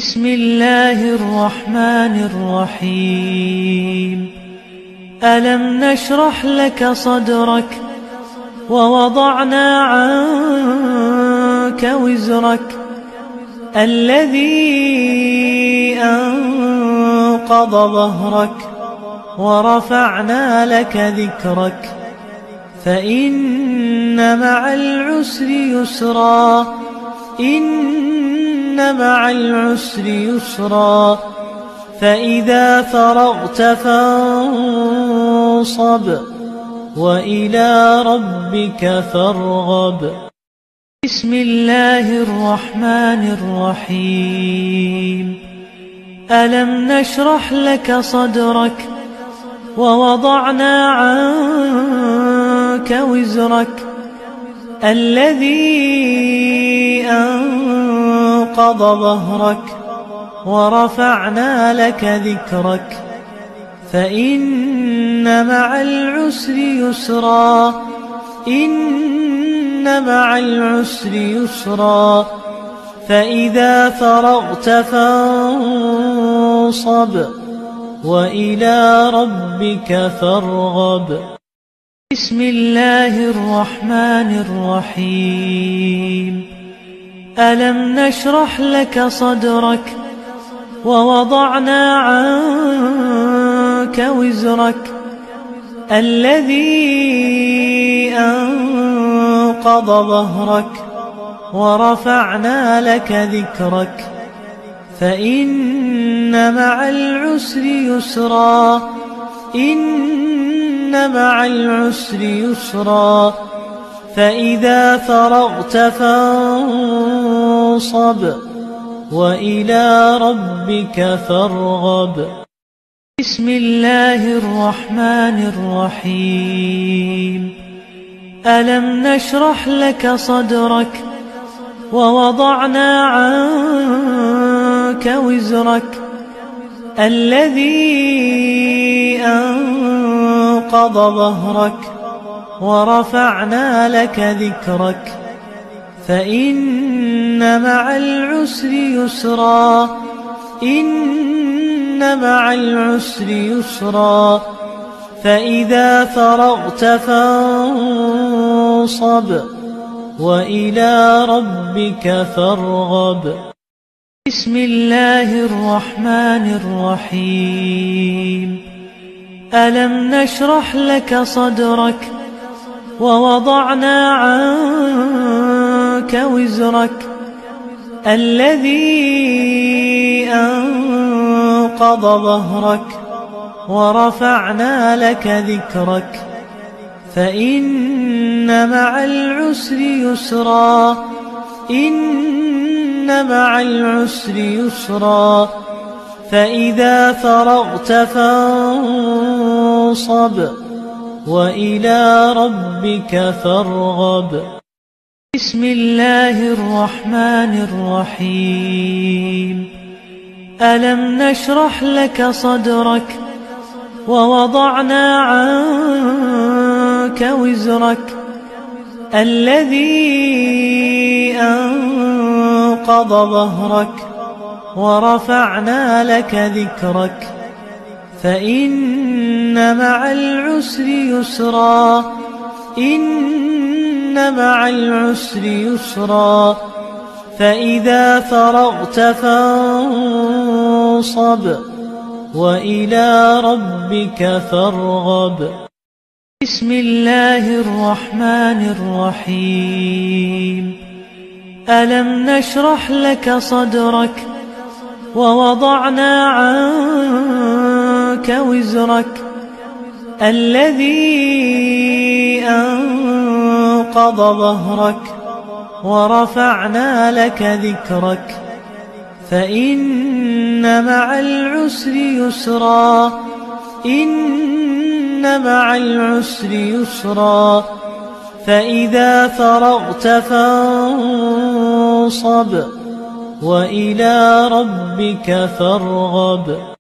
بسم الله الرحمن الرحيم. ألم نشرح لك صدرك ووضعنا عنك وزرك الذي أنقض ظهرك ورفعنا لك ذكرك فإن مع العسر يسرا إن مع العسر يسرا فإذا فرغت فانصب وإلى ربك فارغب. بسم الله الرحمن الرحيم. ألم نشرح لك صدرك ووضعنا عنك وزرك الذي أنقض ظهرك ورفعنا لك ذكرك فإن مع العسر يسرا إن مع العسر يسرا فإذا فرغت فانصب وإلى ربك فارغب. بسم الله الرحمن الرحيم. ألم نشرح لك صدرك ووضعنا عنك وزرك الذي أنقض ظهرك ورفعنا لك ذكرك فإن مع العسر يسرا إن مع العسر يسرا فإذا فرغت فانصب وإلى ربك فارغب. بسم الله الرحمن الرحيم. ألم نشرح لك صدرك ووضعنا عنك وزرك الذي أنقض ظهرك ورفعنا لك ذكرك فإن مع العسر يسرا إن مع العسر يسرا فإذا فرغت فانصب وإلى ربك فارغب. بسم الله الرحمن الرحيم. ألم نشرح لك صدرك ووضعنا عنك وزرك الذي أنقض ظهرك ورفعنا لك ذكرك فإن مع العسر يسرا إن مع العسر يسرا فإذا فرغت فانصب وإلى ربك فارغب. بسم الله الرحمن الرحيم. ألم نشرح لك صدرك ووضعنا عنك وزرك الذي أنقض ظهرك ورفعنا لك ذكرك فإن مع العسر يسرا إن مع العسر يسرا فإذا فرغت فانصب وإلى ربك فارغب. بسم الله الرحمن الرحيم. ألم نشرح لك صدرك ووضعنا عنك وزرك الذي أنقض ظهرك ورفعنا لك ذكرك فإن مع العسر يسرا إن مع العسر يسرا فإذا فرغت فانصب وإلى ربك فارغب.